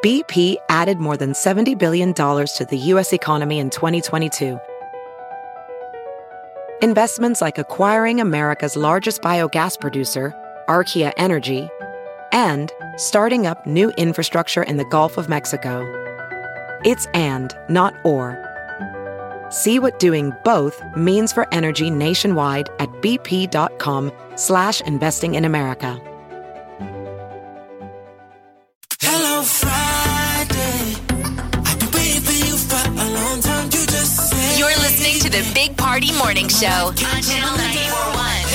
BP added more than $70 billion to the U.S. economy in 2022. Investments like acquiring America's largest biogas producer, Archaea Energy, and starting up new infrastructure in the Gulf of Mexico. It's and, not or. See what doing both means for energy nationwide at bp.com/investing in America. Hello Friday. I've been waiting for you for a long time. You just said You're listening to the Big Party Morning Show on Channel 94.1.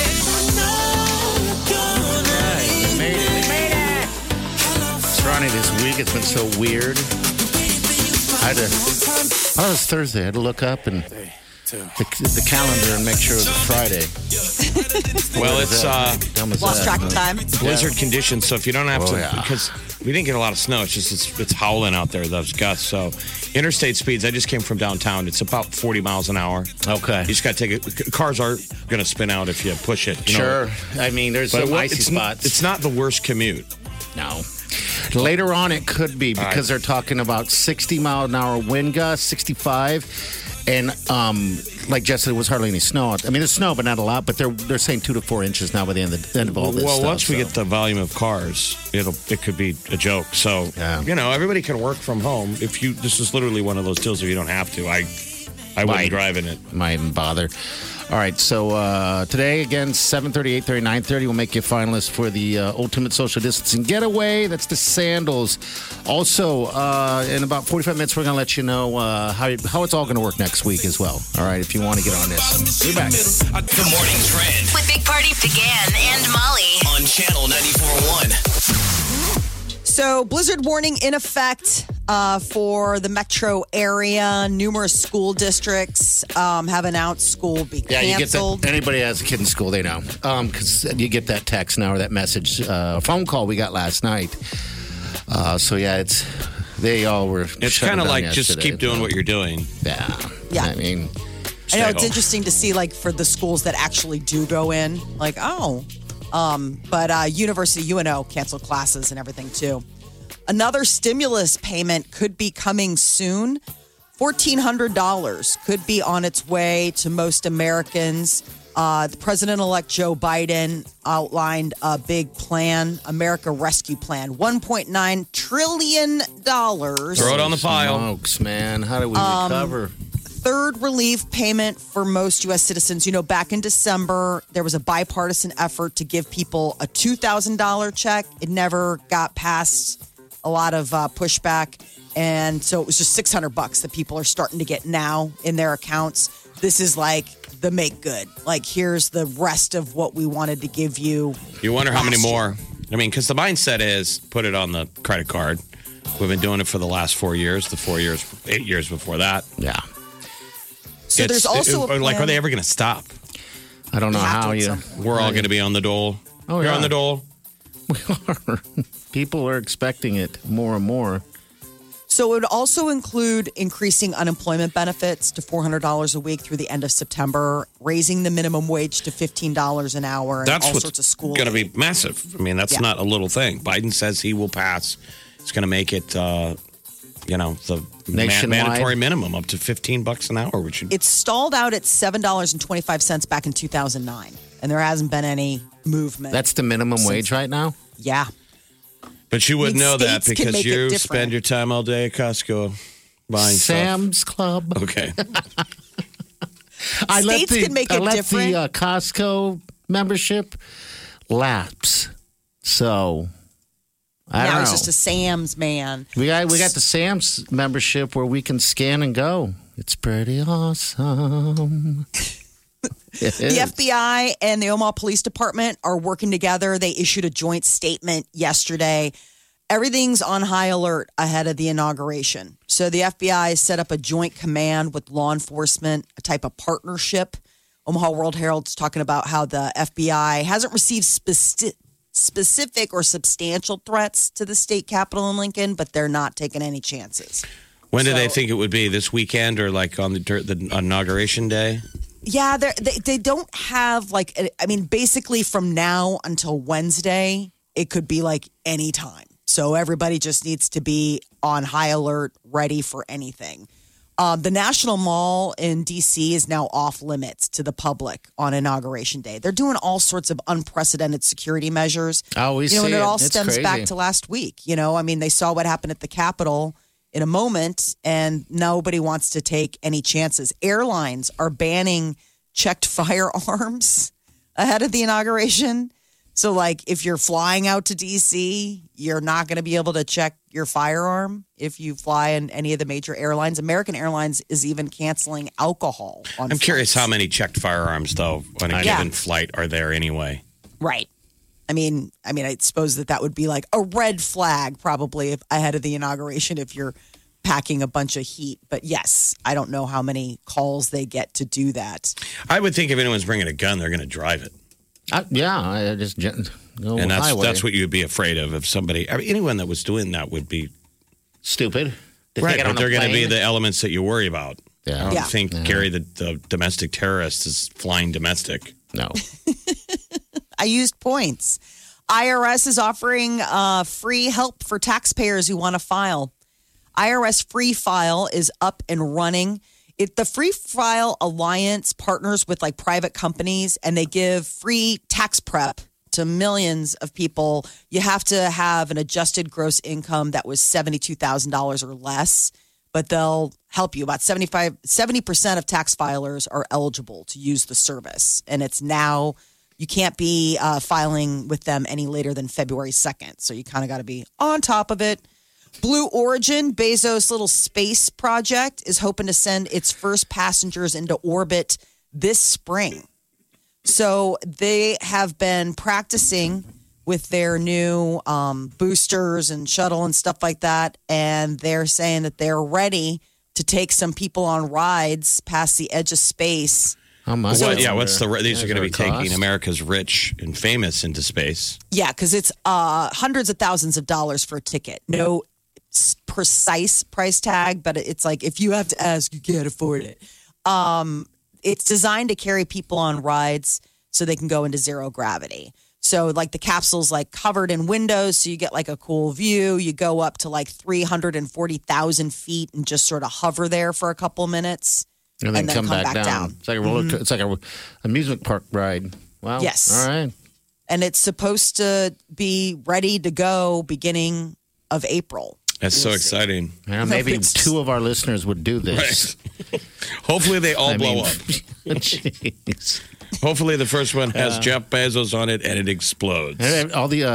We made it. It's Ronnie this week. It's been so weird. Oh, it's Thursday. I had to look up and the calendar and make sure it was Friday. Well, it's Lost track of time. blizzard conditions, so if you don't have to, yeah. because we didn't get a lot of snow, it's just it's howling out there, those gusts. So interstate speeds, I just came from downtown. It's about 40 miles an hour. Okay. You just got to take it. Cars are going to spin out if you push it. You know. Sure. I mean, there's But some icy it's spots. It's not the worst commute. No. Later on, it could be because they're talking about 60-mile-an-hour wind gusts, 65. And like Jess said, it was hardly any snow. I mean, there's snow, but not a lot. But they're saying 2 to 4 inches now by the end of all this Well, stuff. once we get the volume of cars, it could be a joke. So, Yeah. everybody can work from home. This is literally one of those deals if you don't have to. I wouldn't drive in it. Might even bother. All right, so today, again, 7:30, 8:30, 9:30, we'll make you a finalist for the Ultimate Social Distancing Getaway. That's the sandals. Also, in about 45 minutes, we're going to let you know how it's all going to work next week as well. All right, if you want to get on this. You're back. The morning trend With Big Party began and Molly. on Channel 94.1. So, blizzard warning in effect for the metro area. Numerous school districts have announced school will be Yeah, you get canceled. that. Anybody that has a kid in school, they know. Because you get that text now or that message, phone call we got last night. So, yeah, they all were. It's shut kind of down like just yesterday. keep doing what you're doing. Yeah. Yeah. I mean, I know stay it's home. interesting to see, like, for the schools that actually do go in, like, but University UNO canceled classes and everything too. Another stimulus payment could be coming soon. $1,400 could be on its way to most Americans. The President-elect Joe Biden outlined a big plan, America Rescue Plan, $1.9 trillion. Throw it on the pile. smokes, man. How do we recover? Third relief payment for most U.S. citizens. Back in December, there was a bipartisan effort to give people a $2,000 check. It never got past a lot of pushback. And so it was just $600 that people are starting to get now in their accounts. This is like the make good. Like, here's the rest of what we wanted to give you. You wonder how many last year. more. I mean, because the mindset is put it on the credit card. We've been doing it for the last 4 years, 8 years before that. Yeah. So there's also a plan. are they ever going to stop? I don't know We have how to at you. some point. We're all going to be on the dole. Oh, You're yeah. on the dole. We are. People are expecting it more and more. So it would also include increasing unemployment benefits to $400 a week through the end of September, raising the minimum wage to $15 an hour, and That's all what's sorts of school. going to be massive. I mean, that's Yeah. not a little thing. Biden says he will pass. It's going to make it, the Nationwide. mandatory minimum up to $15 an hour, which It stalled out at $7.25 back in 2009, and there hasn't been any movement. That's the minimum wage right now? yeah. But you would I mean, know that states can because make it you different. spend your time all day at Costco buying Sam's Club. stuff. Okay. States can make I it let different. the Costco membership lapse. So, I Now don't know. it's just a Sam's man. we got the Sam's membership where we can scan and go. It's pretty awesome. The FBI and the Omaha Police Department are working together. They issued a joint statement yesterday. Everything's on high alert ahead of the inauguration. So the FBI set up a joint command with law enforcement, a type of partnership. Omaha World Herald's talking about how the FBI hasn't received specific or substantial threats to the state capitol in Lincoln, but they're not taking any chances. When do they So- think it would be? This weekend or like on the inauguration day? Yeah, they don't have basically from now until Wednesday, it could be like any time. So everybody just needs to be on high alert, ready for anything. The National Mall in D.C. is now off limits to the public on Inauguration Day. They're doing all sorts of unprecedented security measures. Oh, we see and it all It's stems crazy. back to last week. I mean, they saw what happened at the Capitol in a moment, and nobody wants to take any chances. Airlines are banning checked firearms ahead of the inauguration. So, like, if you're flying out to D.C., you're not going to be able to check your firearm if you fly in any of the major airlines. American Airlines is even canceling alcohol on I'm curious flights. how many checked firearms, though, on a given flight are there anyway. Right. I mean, I suppose that would be like a red flag probably ahead of the inauguration if you're packing a bunch of heat. But yes, I don't know how many calls they get to do that. I would think if anyone's bringing a gun, they're going to drive it. I just go And highway. that's what you'd be afraid of if somebody, anyone that was doing that would be Stupid. They right. take it But on a they're going to be plane. the elements that you worry about. Yeah. I don't Yeah. think Gary, the domestic terrorist, is flying domestic. No. I used points. IRS is offering free help for taxpayers who want to file. IRS Free File is up and running. The Free File Alliance partners with like private companies, and they give free tax prep to millions of people. You have to have an adjusted gross income that was $72,000 or less, but they'll help you. About 70% of tax filers are eligible to use the service, and it's now you can't be filing with them any later than February 2nd. So you kind of got to be on top of it. Blue Origin, Bezos' little space project, is hoping to send its first passengers into orbit this spring. So they have been practicing with their new boosters and shuttle and stuff like that. And they're saying that they're ready to take some people on rides past the edge of space. How much? These are going to be taking America's rich and famous into space. Yeah, because it's hundreds of thousands of dollars for a ticket. No precise price tag, but it's like if you have to ask, you can't afford it. It's designed to carry people on rides so they can go into zero gravity. So like the capsule's like covered in windows, so you get like a cool view. You go up to like 340,000 feet and just sort of hover there for a couple minutes. And then come back down. It's like a roller. It's like a amusement park ride. Wow. Yes. All right. And it's supposed to be ready to go beginning of April. That's so exciting. Yeah, maybe two of our listeners would do this. Right. Hopefully they all blow up. Jeez. Hopefully the first one has Jeff Bezos on it and it explodes. And all the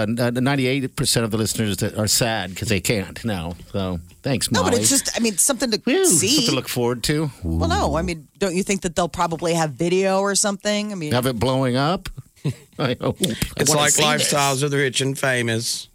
98% of the listeners that are sad because they can't now. So thanks, Molly. No, but it's just, something to Whew, see. something to look forward to. Well, no, don't you think that they'll probably have video or something? Have it blowing up? I hope. It's like lifestyles of the rich and famous.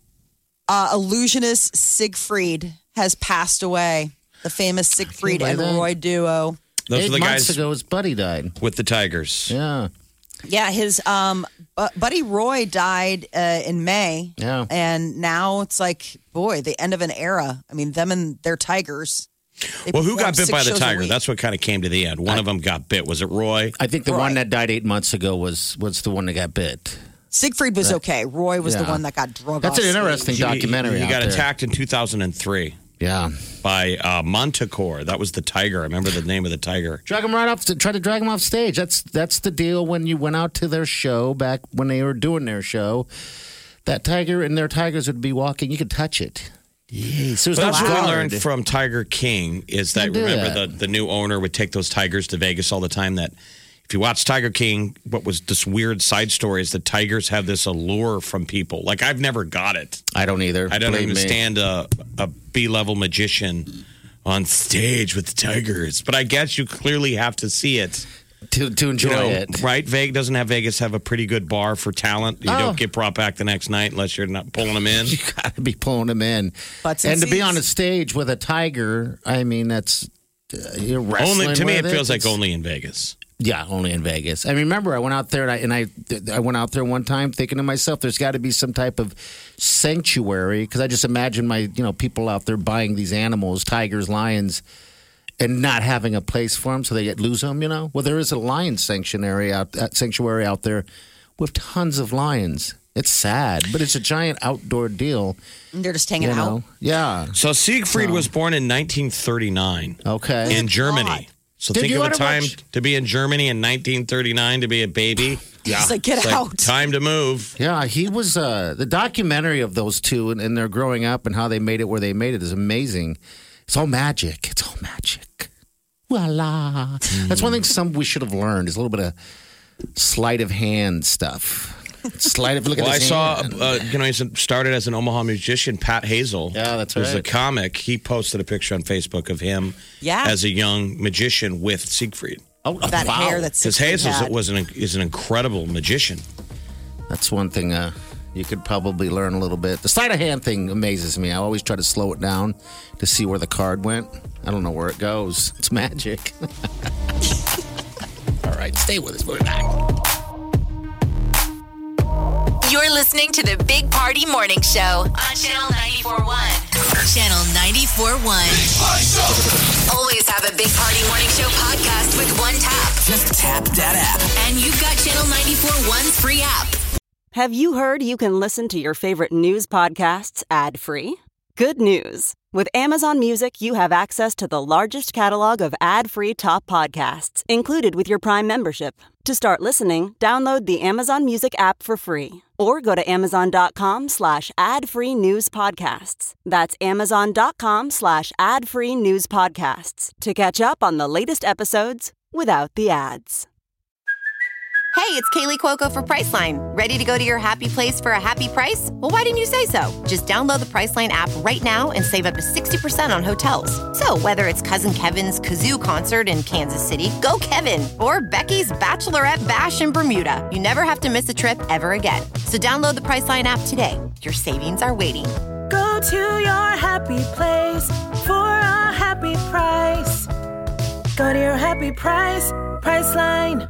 Illusionist Siegfried has passed away. The famous Siegfried and Roy duo. Those 8 are the months guys ago, his buddy died. with the tigers. Yeah. Yeah, his buddy Roy died in May. Yeah. And now it's like, boy, the end of an era. Them and their tigers. They Well, who got perform bit by 6 the shows a tiger? week. That's what kind of came to the end. One of them got bit. Was it Roy? I think the Roy. one that died 8 months ago was the one that got bit. Siegfried was okay. Roy was the Yeah. one that got drug That's off an stage. interesting documentary. He out got there. attacked in 2003 Yeah. by Montecore. That was the tiger. I remember the name of the tiger. Drag him right off. Try to drag him off stage. That's the deal when you went out to their show back when they were doing their show. That tiger and their tigers would be walking. You could touch it. Yes. There's That's no what we guard. learned from Tiger King is that, Don't do remember, that. the new owner would take those tigers to Vegas all the time. That if you watch Tiger King, what was this weird side story is that tigers have this allure from people. Like, I've never got it. I don't either. I don't Believe me. understand a B-level magician on stage with tigers. But I guess you clearly have to see it. to enjoy it. Right? Vegas have a pretty good bar for talent. You Oh. don't get brought back the next night unless you're not pulling them in. You got to be pulling them in. Butts and And to be seats. on a stage with a tiger, that's you're wrestling. Only to me, it with feels like It's- only in Vegas. Yeah, only in Vegas. I remember I went out there and I went out there one time thinking to myself, there's got to be some type of sanctuary because I just imagine people out there buying these animals, tigers, lions, and not having a place for them, so they lose them. Well, there is a lion sanctuary out there with tons of lions. It's sad, but it's a giant outdoor deal. And they're just hanging You out. know? Yeah. So Siegfried was born in 1939 Okay. in Germany. So Did think you of a ever time watch- to be in Germany in 1939 to be a baby. Yeah. It's like, get It's out. Time to move. Yeah, he was the documentary of those two and their growing up and how they made it where they made it is amazing. It's all magic. It's all magic. Voila. That's one thing we should have learned is a little bit of sleight of hand stuff. Sleight of look Well, at I his saw, hand. he started as an Omaha musician, Pat Hazel. Yeah, that's was a right. comic. He posted a picture on Facebook of him Yeah. as a young magician with Siegfried. Oh, That wow. hair that's Because Hazel is an incredible magician. That's one thing you could probably learn a little bit. The sleight of hand thing amazes me. I always try to slow it down to see where the card went. I don't know where it goes. It's magic. All right, stay with us. We'll be back. You're listening to the Big Party Morning Show on Channel 94.1. Channel 94.1. Always have a Big Party Morning Show podcast with one tap. Just tap that app. And you've got Channel 94.1's free app. Have you heard you can listen to your favorite news podcasts ad-free? Good news. With Amazon Music, you have access to the largest catalog of ad-free top podcasts included with your Prime membership. To start listening, download the Amazon Music app for free or go to amazon.com/ad-free news podcasts. That's amazon.com/ad-free news podcasts to catch up on the latest episodes without the ads. Hey, it's Kaylee Cuoco for Priceline. Ready to go to your happy place for a happy price? Well, why didn't you say so? Just download the Priceline app right now and save up to 60% on hotels. So whether it's Cousin Kevin's Kazoo concert in Kansas City, go Kevin, or Becky's Bachelorette Bash in Bermuda, you never have to miss a trip ever again. So download the Priceline app today. Your savings are waiting. Go to your happy place for a happy price. Go to your happy price, Priceline.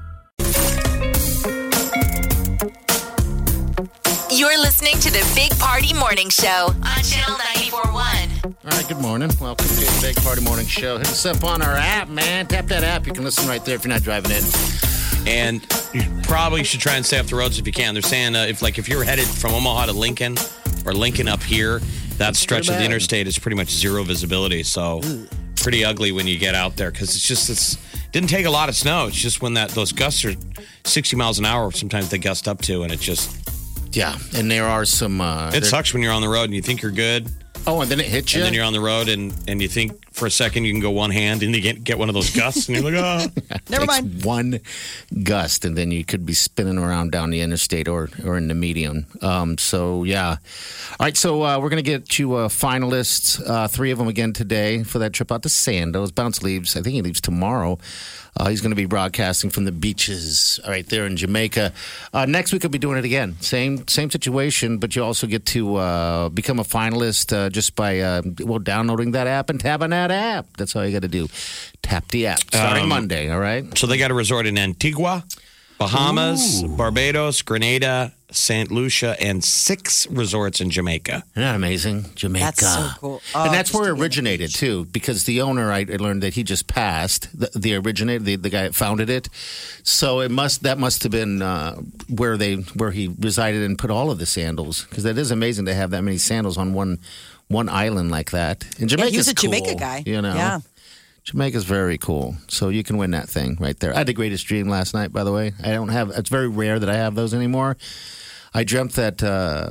You're listening to the Big Party Morning Show on Channel 94.1. All right, good morning. Welcome to the Big Party Morning Show. Hit us up on our app, man. Tap that app. You can listen right there if you're not driving in. And you probably should try and stay off the roads if you can. They're saying if you're headed from Omaha to Lincoln or Lincoln up here, that stretch of the interstate is pretty much zero visibility. So pretty ugly when you get out there because it didn't take a lot of snow. It's just when those gusts are 60 miles an hour, sometimes they gust up to, and it just... Yeah, and there are some... it sucks when you're on the road and you think you're good. Oh, and then it hits you? And then you're on the road and you think for a second you can go one hand and you get one of those gusts and you're like, oh. Never mind. One gust, and then you could be spinning around down the interstate or in the median. So, yeah. All right, so we're going to get you finalists, 3 of them again today for that trip out to Sandoz. Bounce leaves, I think he leaves tomorrow. He's going to be broadcasting from the beaches right there in Jamaica. Next week, we'll be doing it again. Same situation, but you also get to become a finalist just by downloading that app and tapping that app. That's all you got to do. Tap the app. Starting Monday, all right? So they got a resort in Antigua, Bahamas, Barbados, Grenada, St. Lucia, and 6 resorts in Jamaica. Isn't that amazing? Jamaica. That's so cool. And that's where it originated, too, because the owner, I learned that he just passed, the originator, the guy that founded it. So that must have been where he resided and put all of the sandals, because that is amazing to have that many sandals on one island like that. And Jamaica's he was a cool, Jamaica guy. You know? Yeah. Jamaica's very cool. So you can win that thing right there. I had the greatest dream last night, by the way. It's very rare that I have those anymore. I dreamt that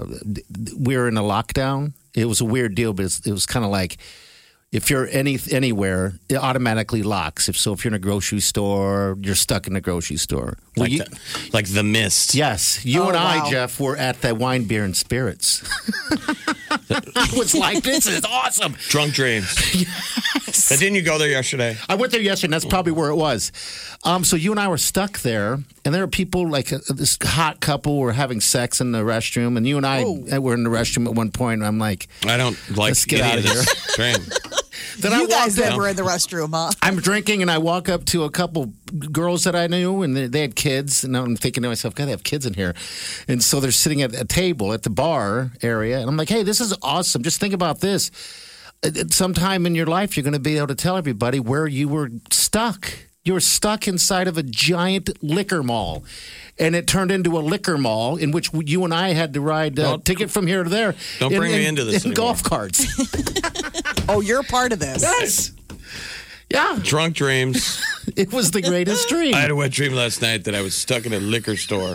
we were in a lockdown. It was a weird deal, but it was kind of like if you're anywhere, it automatically locks. If you're in a grocery store, you're stuck in a grocery store. Like the mist. Yes. You and I, wow. Jeff, were at the Wine, Beer, and Spirits. It was like, this is awesome. Drunk dreams. Yes. But didn't you go there yesterday? I went there yesterday, and that's probably where it was. So you and I were stuck there, and there were people like this hot couple were having sex in the restroom, and you and I were in the restroom at one point, and I'm like, I don't like let's get any out of of this dream. Then You guys walked that up- were in the restroom, huh? I'm drinking, and I walk up to a couple girls that I knew, and they had kids. And I'm thinking to myself, God, they have kids in here. And so they're sitting at a table at the bar area. And I'm like, hey, this is awesome. Just think about this. Sometime in your life, you're going to be able to tell everybody where you were stuck. You were stuck inside of a giant liquor mall. And it turned into a liquor mall in which you and I had to ride ticket from here to there. Don't bring me into this in anymore. golf carts. Oh, you're a part of this. Yes. Yeah. Drunk dreams. It was the greatest dream. I had a wet dream last night that I was stuck in a liquor store.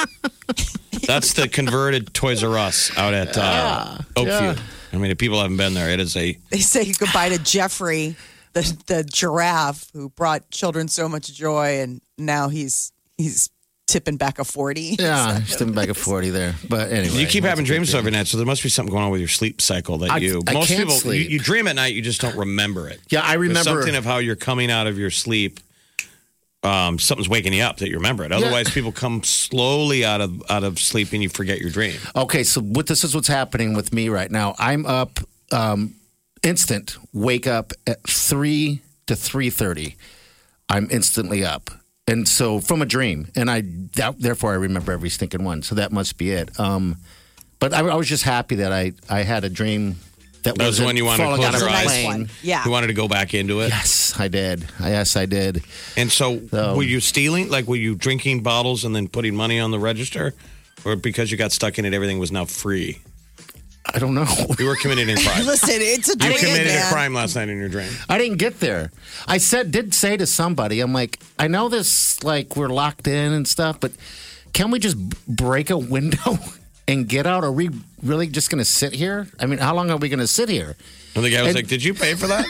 That's the converted Toys R Us out at Oakview. Yeah. I mean, if people haven't been there, it is a... They say goodbye to Jeffrey, the giraffe who brought children so much joy, and now he's tipping back a 40. Yeah, just tipping back a 40 there. But anyway. You keep having dreams every night, so there must be something going on with your sleep cycle that I most can't people, sleep. you dream at night, you just don't remember it. Yeah, I remember. There's something of how you're coming out of your sleep. Something's waking you up that you remember it. Otherwise, people come slowly out of sleep and you forget your dream. Okay, so this is what's happening with me right now. I'm up instant, wake up at 3 to 3:30. I'm instantly up. And so from a dream, and therefore I remember every stinking one. So that must be it. But I was just happy that I had a dream that was when you wanted to close your eyes. Yeah, you wanted to go back into it. Yes, I did. Yes, I did. And so were you stealing? Like, were you drinking bottles and then putting money on the register, or because you got stuck in it, everything was now free? I don't know. You were committing a crime. Listen, it's a dream. You committed man. a crime last night in your dream. I didn't get there. I did say to somebody, I'm like, I know this, like, we're locked in and stuff, but can we just break a window and get out? Are we really just going to sit here? I mean, how long are we going to sit here? And the guy was like, did you pay for that?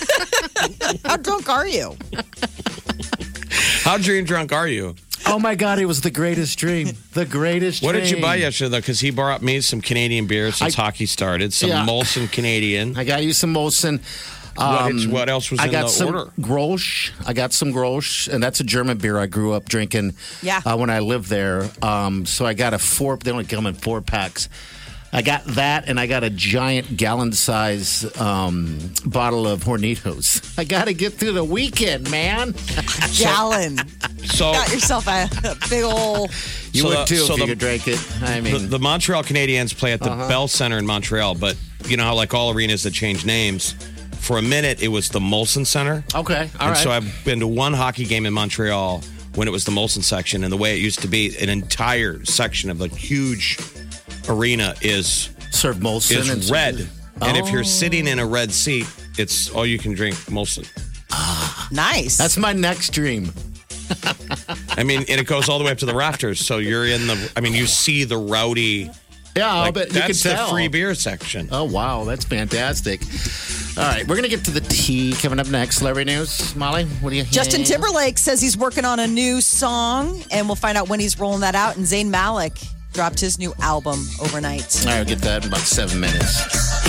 How drunk are you? How dream drunk are you? Oh, my God, it was the greatest dream. The greatest What dream. did you buy yesterday, though? Because he brought me some Canadian beer since hockey started. Some Molson Canadian. I got you some Molson. What else was in the order? Grolsch. I got some Grolsch, and that's a German beer I grew up drinking when I lived there. So I got they only come in 4-packs. I got that, and I got a giant gallon-size bottle of Hornitos. I got to get through the weekend, man. Gallon. So got yourself a big old... You would, too, if you could drink it. I mean... The Montreal Canadiens play at the Bell Center in Montreal, but you know how, like all arenas that change names, for a minute, it was the Molson Center. Okay, all right. So I've been to one hockey game in Montreal when it was the Molson section, and the way it used to be, an entire section of the huge... arena is served Molson is red, and if you're sitting in a red seat, it's all you can drink Molson. Nice. That's my next dream. I mean, and it goes all the way up to the rafters, so you're in the. I mean, you see the rowdy. Yeah, like, but you can that's tell. the free beer section. Oh wow, that's fantastic. All right, we're gonna get to the tea coming up next. Celebrity news, Molly. What do you? Justin Timberlake says he's working on a new song, and we'll find out when he's rolling that out. And Zayn Malik dropped his new album overnight. All right, we'll get that in about 7 minutes.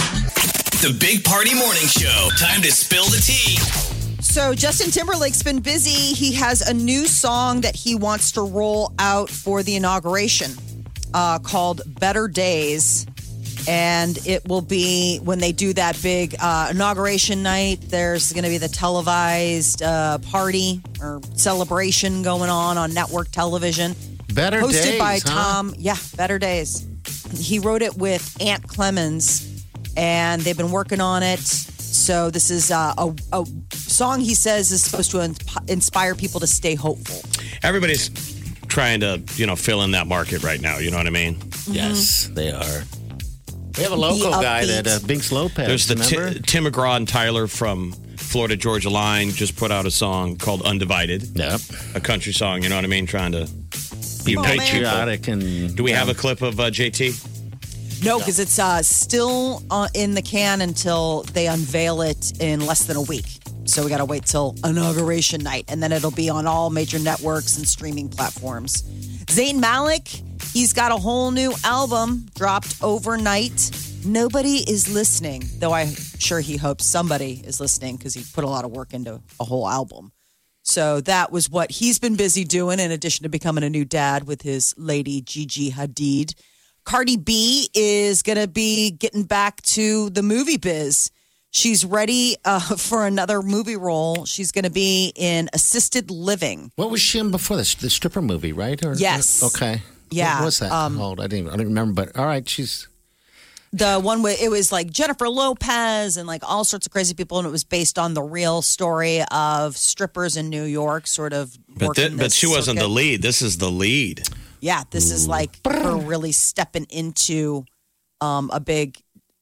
The Big Party Morning Show. Time to spill the tea. So Justin Timberlake's been busy. He has a new song that he wants to roll out for the inauguration called Better Days. And it will be when they do that big inauguration night. There's going to be the televised party or celebration going on network television. Better Hosted Days, by huh? Tom. Yeah, Better Days. He wrote it with Ant Clemens, and they've been working on it. So this is a song he says is supposed to inspire people to stay hopeful. Everybody's trying to, fill in that market right now. You know what I mean? Yes, they are. We have a local guy that Binks Lopez. There's the Tim McGraw and Tyler from Florida Georgia Line just put out a song called Undivided. Yep. A country song, you know what I mean? Trying to be patriotic. And do we have a clip of JT? No, because it's still in the can until they unveil it in less than a week. So we got to wait till inauguration night, and then it'll be on all major networks and streaming platforms. Zayn Malik, he's got a whole new album dropped overnight. Nobody is listening, though I'm sure he hopes somebody is listening because he put a lot of work into a whole album. So that was what he's been busy doing in addition to becoming a new dad with his lady Gigi Hadid. Cardi B is going to be getting back to the movie biz. She's ready for another movie role. She's going to be in Assisted Living. What was she in before this? The stripper movie, right? Yes. Okay. Yeah. What was that called? I don't remember. But all right, The one where it was like Jennifer Lopez and like all sorts of crazy people, and it was based on the real story of strippers in New York, sort of. But she wasn't the lead. This is the lead. Yeah, this is like her really stepping into a big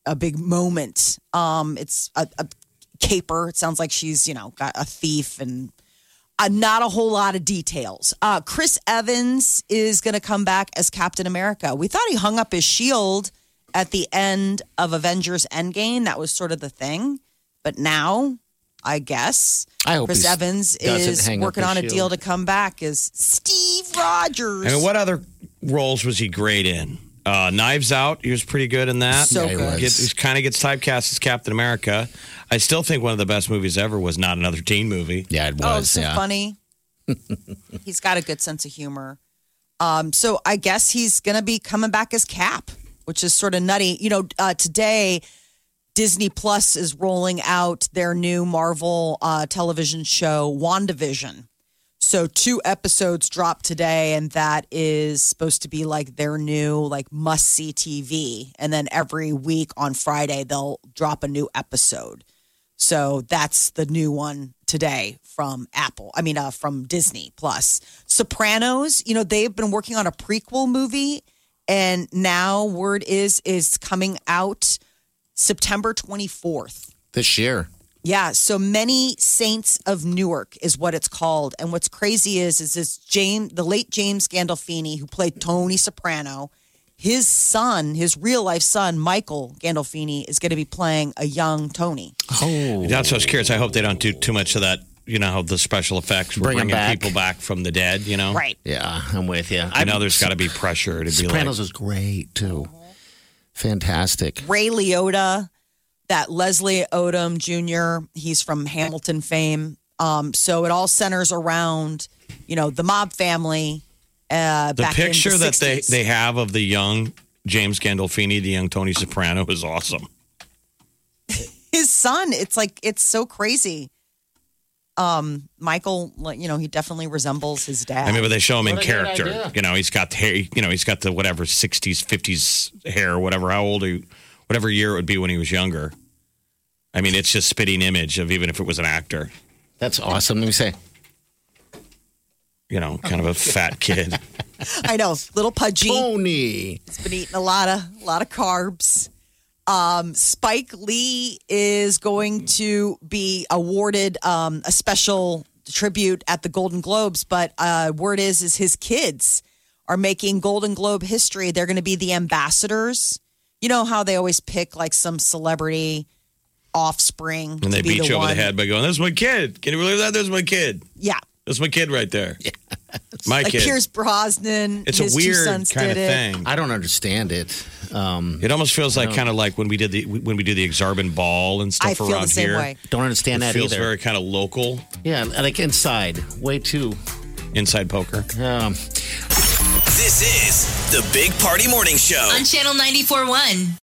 moment. It's a caper. It sounds like she's got a thief and not a whole lot of details. Chris Evans is going to come back as Captain America. We thought he hung up his shield at the end of Avengers Endgame. That was sort of the thing. But now, I guess, Chris Evans is working on a deal to come back as Steve Rogers. I mean, what other roles was he great in? Knives Out, he was pretty good in that. So good. He kind of gets typecast as Captain America. I still think one of the best movies ever was Not Another Teen Movie. Yeah, it was. Oh, so funny. He's got a good sense of humor. So I guess he's going to be coming back as Cap, which is sort of nutty. Today, Disney Plus is rolling out their new Marvel television show, WandaVision. So 2 episodes dropped today, and that is supposed to be like their new must-see TV. And then every week on Friday, they'll drop a new episode. So that's the new one today from from Disney Plus. Sopranos, they've been working on a prequel movie, and now word is coming out September 24th. This year. Yeah, so Many Saints of Newark is what it's called. And what's crazy is this the late James Gandolfini, who played Tony Soprano, his son, his real-life son, Michael Gandolfini, is going to be playing a young Tony. Oh. That's what I was curious. I hope they don't do too much of that, how the special effects, bringing people back from the dead, Right. Yeah, I'm with you. I know there's got to be pressure to be like... Sopranos is great, too. Fantastic. Ray Liotta, that Leslie Odom Jr., he's from Hamilton fame. So it all centers around, the mob family. The picture that they have of the young James Gandolfini, the young Tony Soprano, is awesome. His son, it's so crazy. Michael, he definitely resembles his dad. I mean, but they show him in character. He's got the hair, he's got the whatever 60s, 50s hair, whatever year it would be when he was younger. I mean, it's just spitting image of even if it was an actor. That's awesome. Let me say. Kind of a fat kid. I know, little pudgy. Tony. He's been eating a lot of carbs. Spike Lee is going to be awarded a special tribute at the Golden Globes, but word is his kids are making Golden Globe history. They're going to be the ambassadors. You know how they always pick some celebrity offspring, and they beat you over the head by going, "That's my kid." Can you believe that? There's my kid. Yeah. That's my kid right there. Yeah. My kid. Pierce Brosnan. It's a weird kind of thing. I don't understand it. It almost feels like kind of like when we do the Exarban Ball and stuff I feel around the same here. Way. Don't understand that feels either. Very kind of local. Yeah, like inside. Way too. Inside poker. This is the Big Party Morning Show on Channel 94.1.